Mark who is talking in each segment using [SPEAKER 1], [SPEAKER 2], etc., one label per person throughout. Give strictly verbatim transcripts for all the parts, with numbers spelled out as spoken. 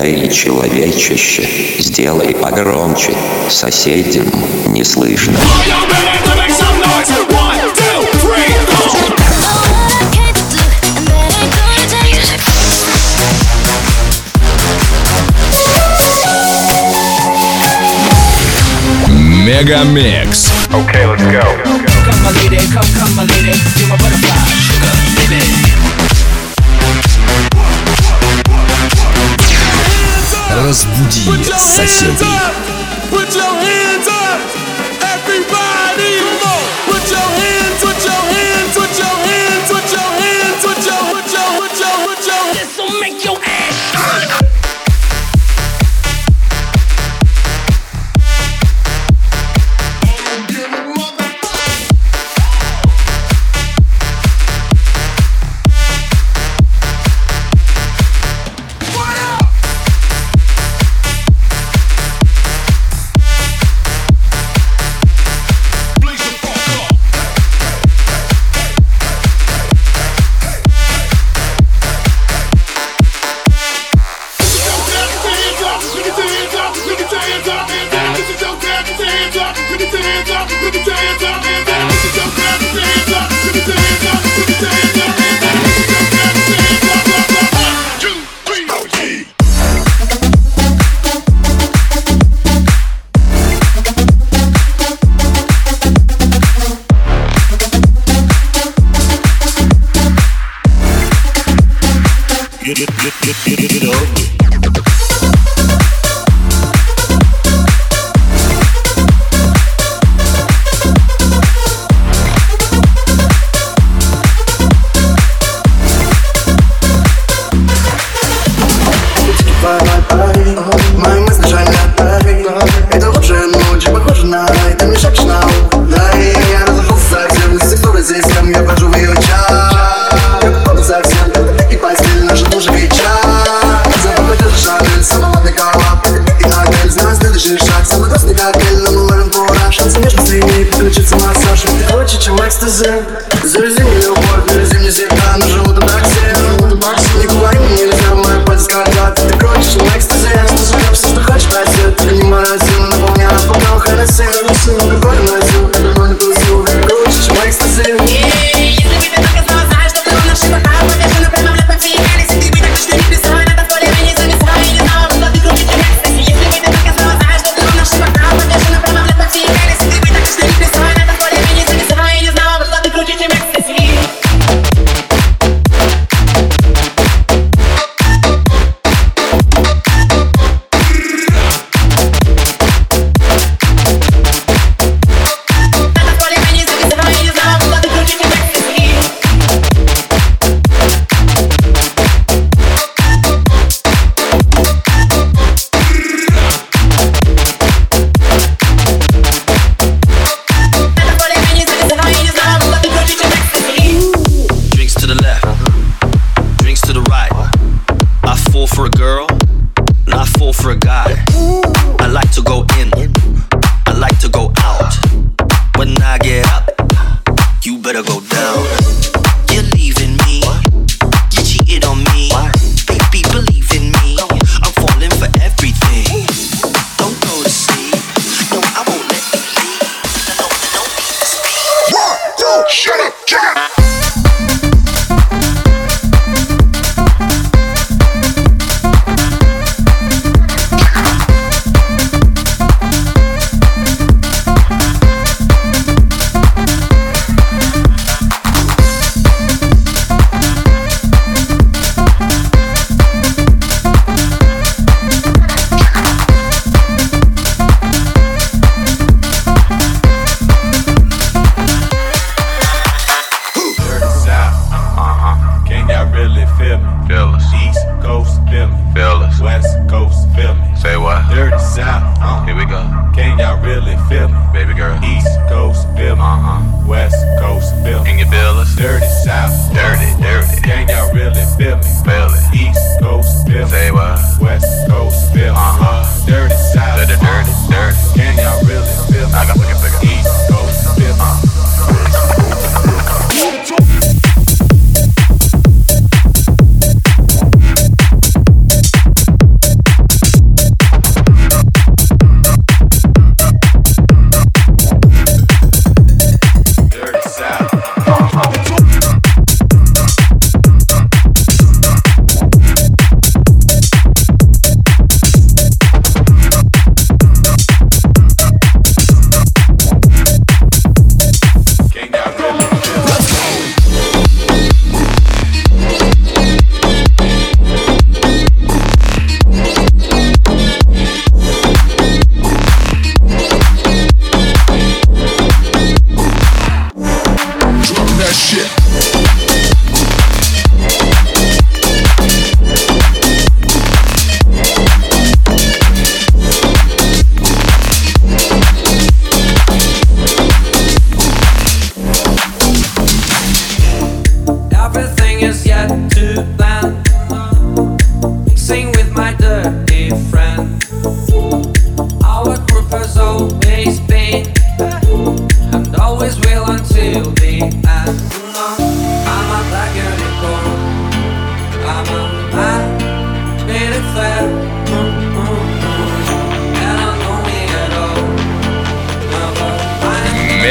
[SPEAKER 1] Эй, человечище, сделай погромче, соседям не слышно.
[SPEAKER 2] Мегамикс.
[SPEAKER 3] Okay, let's go.
[SPEAKER 4] Come my lady, come, come my lady, you're my butterfly, sugar, baby.
[SPEAKER 2] Разбуди соседей.
[SPEAKER 5] Put your hands up, everybody. Come on, put your hands, put your hands, put your hands, put your hands, put your, put your, put your, put your. This'll make your ass shine.
[SPEAKER 6] Get it, get, get, get, get it ugly.
[SPEAKER 7] Мои мысли шалят, это лучшая ночь, похоже на рай, ты мне шепчешь на ухо. Да, и я разошелся совсем, из секторы здесь, там я вхожу в ее чат. Я попаду совсем, и постель наша тоже веча. Запах держи шагель, самый модный коллап, и отель, знаю следующий шаг. Самый красный коктейль, но мы ловим кураж. Танцы между слиний, подключится массаж. Ты круче, чем экстази. Завези мне любовь, завези мне всегда, но живу тут такси. Не говори мне нельзя, мои пальцы скользят. Ты круче, чем экстази. Все, что хочешь, просит, только не морозил. Наполняю бокал Хеннесси. Какой носил, как давно не тусил. Круче, чем экстази.
[SPEAKER 8] Если бы ты только знала, знаешь, что ты наши бокалы повешены прямо в летном финале. Если ты бы так точно не писала, это в поле не зависала. И не знала, что ты круче, чем экстази. Если бы ты только знала, знаешь, что ты наши бокалы повешены прямо в летном финале. Если ты бы так точно не писала, это в поле не зависала. И не знала, что ты круче, чем экстази.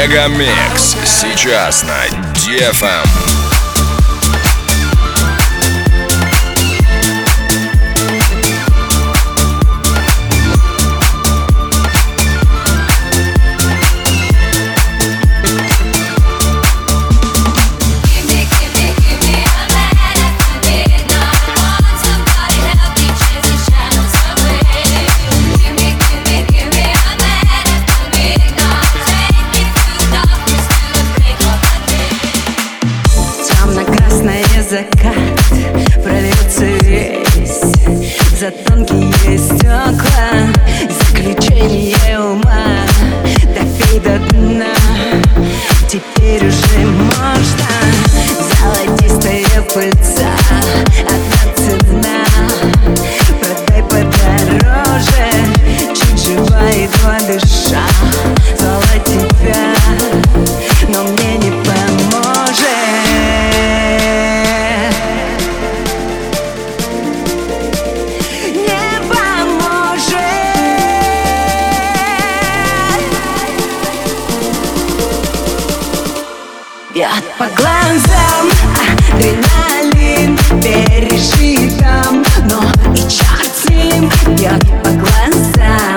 [SPEAKER 2] Мегамикс сейчас на ди эф эм.
[SPEAKER 3] Закат прольется весь за тонкие стекла. Заключение ума допей до дна. Теперь уже можно. Золотистая пыльца, одна цена. Продай подороже, чуть жива, едва дыша. Звала тебя, но мне не поможет. Бьет по глазам адреналин, пережитом, но и черт с ним. Бьет по глазам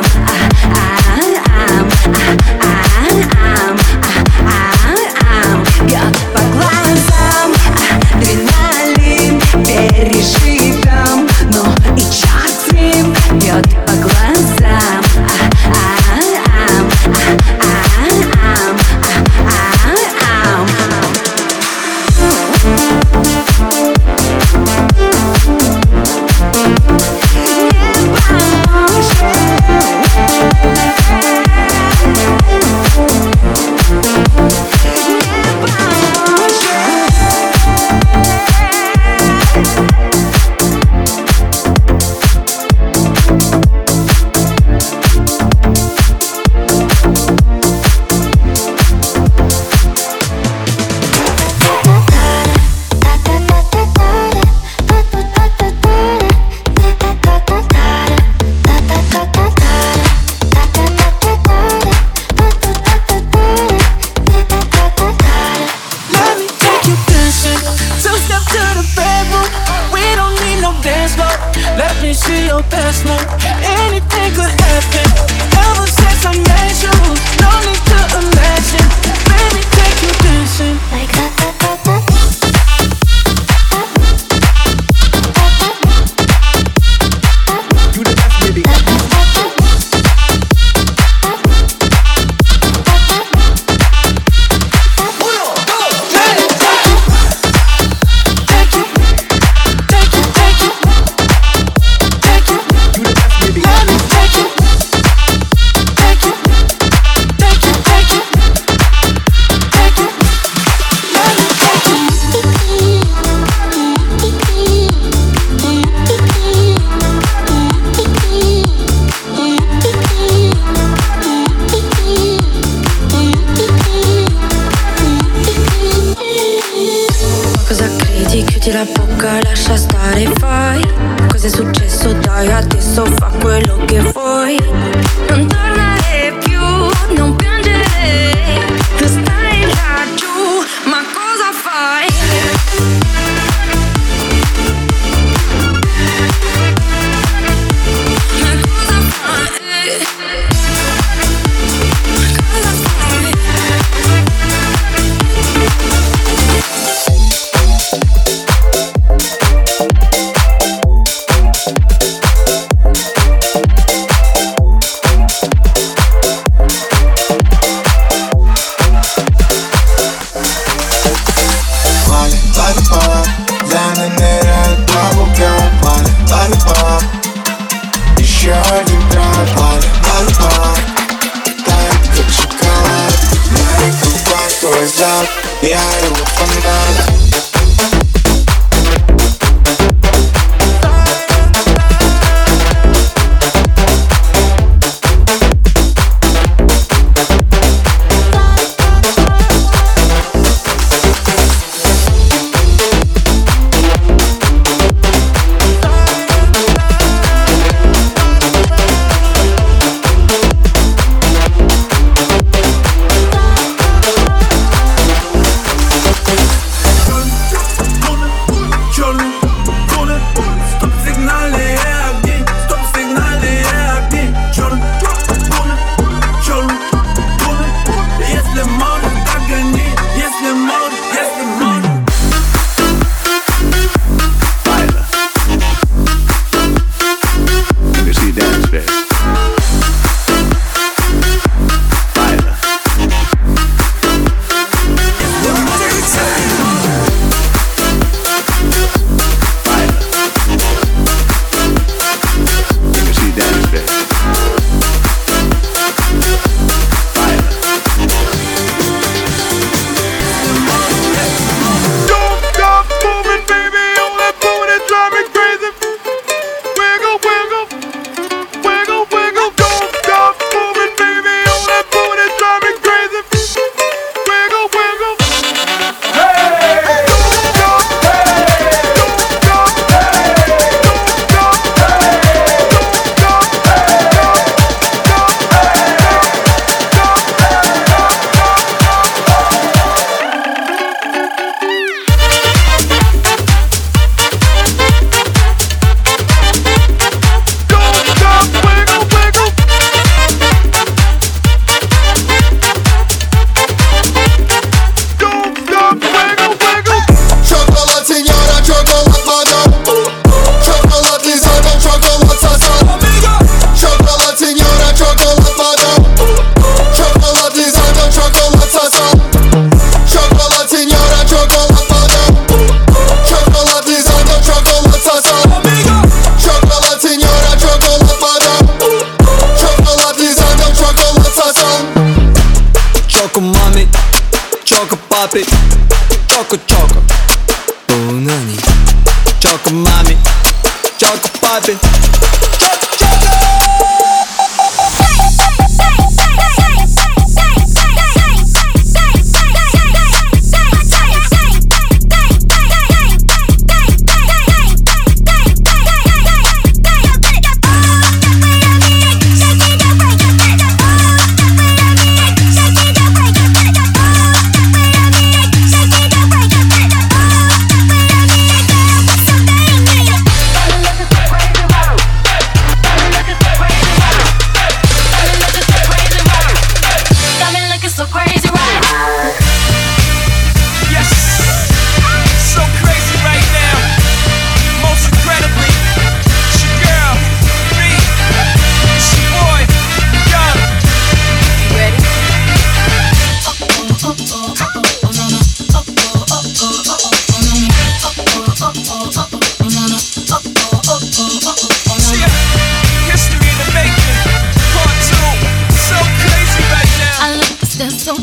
[SPEAKER 3] бьет по глазам адреналин, пережитом, но и черт с ним. Бьет по глазам
[SPEAKER 9] la bocca, lascia stare, fai. Cosa è successo? Dai, adesso fa quello che vuoi. Non tornare più, non piangere. Tu stai laggiù, ma cosa fai? Ma cosa fai? Cosa fai?
[SPEAKER 10] Я его фанат.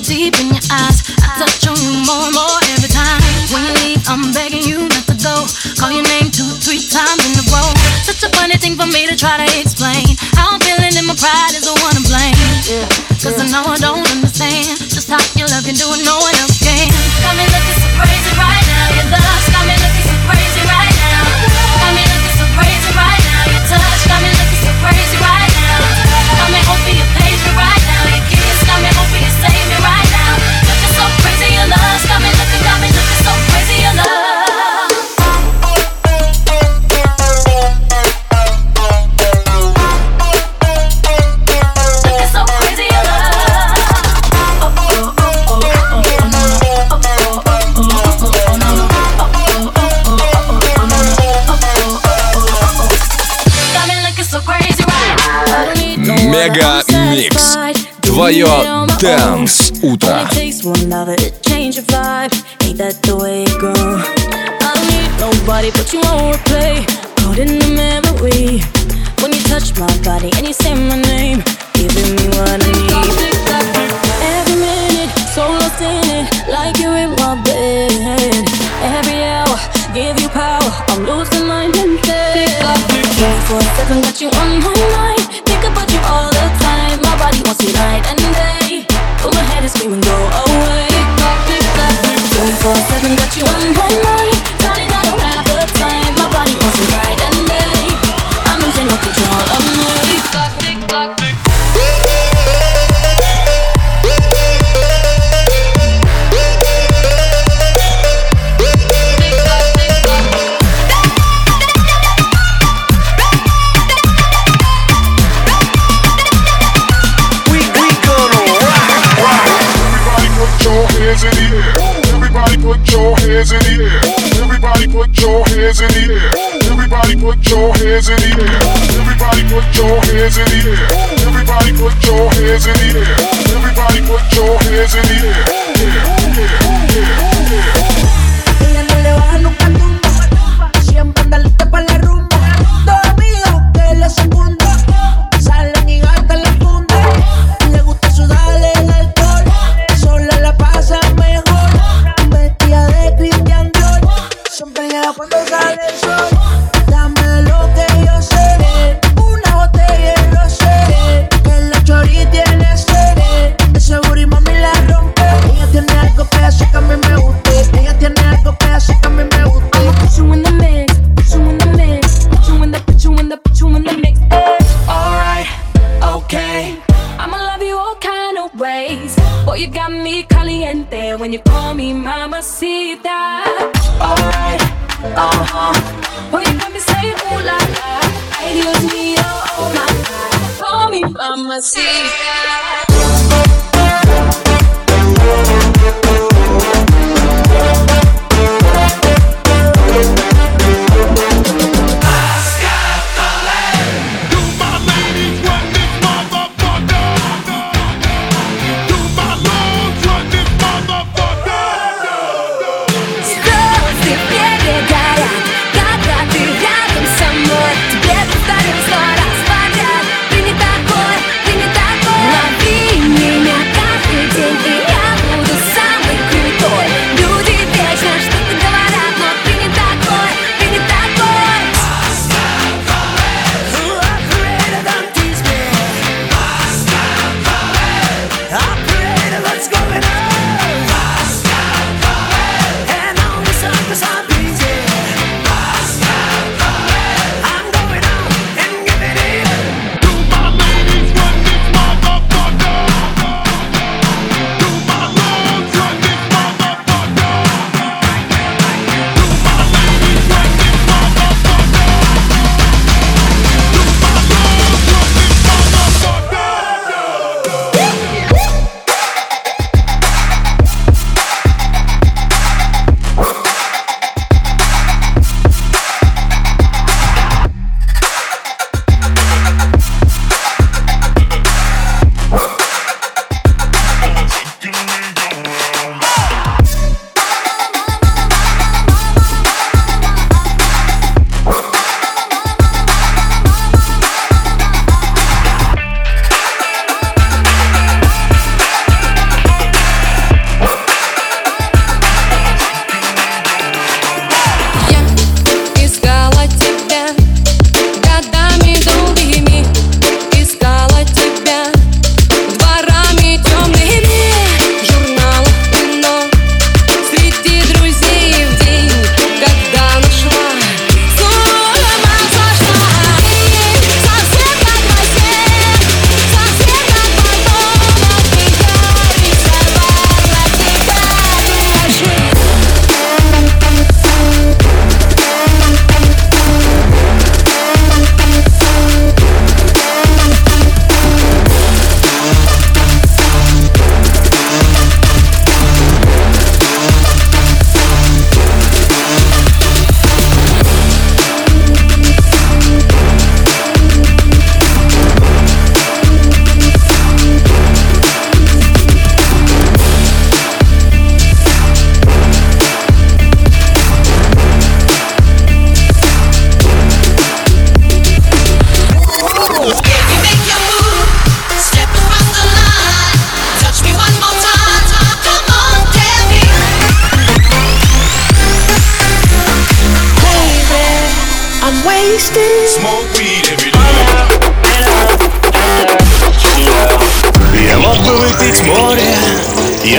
[SPEAKER 9] deep in your eyes. I touch on you more and more every time. When you leave, I'm begging you not to go. Call your name two, three times in a row. Such a funny thing for me to try to explain. How I'm feeling and my pride is the one to blame. Yeah, cause I know I don't understand just how your love can do it, no one else can. Got me looking so crazy right now. Your love got me looking so crazy right now. Got me looking so crazy right now. Your touch got me looking so crazy right now. Got me hoping you page me right now. Your kiss got me hoping you save me right now. Looking so crazy, your love got me looking, got me looking so crazy, your love.
[SPEAKER 2] Мега Микс. Твое Dance утро.
[SPEAKER 9] Nobody but you won't replay. Caught in the memory when you touch my body and you say my name, giving me what I need. Every minute, so lost in it, like you're in my bed. Every hour, give you power. I'm losing my mental. For a second, got you on my mind. Think about you all the time. My body wants you night and day. But my head is screaming, go away. For a second, got you on my mind. Darling, I don't have the time. My body wants you night and day. I'm losing no control of me. Clock, tick, clock, tick.
[SPEAKER 6] Everybody put your hands in the air. Everybody put your hands in the air. Everybody put your hands in the air. Everybody put your hands in the air. Everybody put your hands in the air. Everybody put your hands in the air. Yeah, yeah, yeah, yeah.
[SPEAKER 3] Ella no le baja nunca al tumba. Siempre anda lista para la rumba. Dos amigos que la secundan. Salen y gastan la funda. Le gusta sudarle el alcohol. Sola la pasa mejor. Vestida de Christian Dior. Siempre llega cuando sale el sol. Dame lo que yo sé. Una botella de rosé. Que la chori tiene sed. De seguro y mami la rompe. Ella tiene algo que hace que a mí me guste. Ella tiene algo que hace que a mí me guste. I'ma put you in the mix, put you in the mix, put you in the, put you in the, put you in the mix.
[SPEAKER 4] Alright, okay.
[SPEAKER 9] I'ma love you all kind of ways. Boy, you got me caliente when you call me mamacita.
[SPEAKER 4] Alright, uh-huh.
[SPEAKER 9] Boy, you got me saying ooh la la. Ay, Dios mío, oh my God. Call me mamacita.
[SPEAKER 3] Not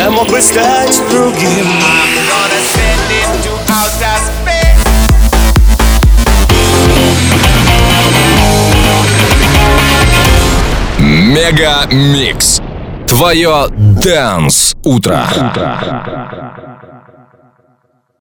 [SPEAKER 5] Я мог бы стать другим.
[SPEAKER 2] Мега Микс. Твое Dance утро.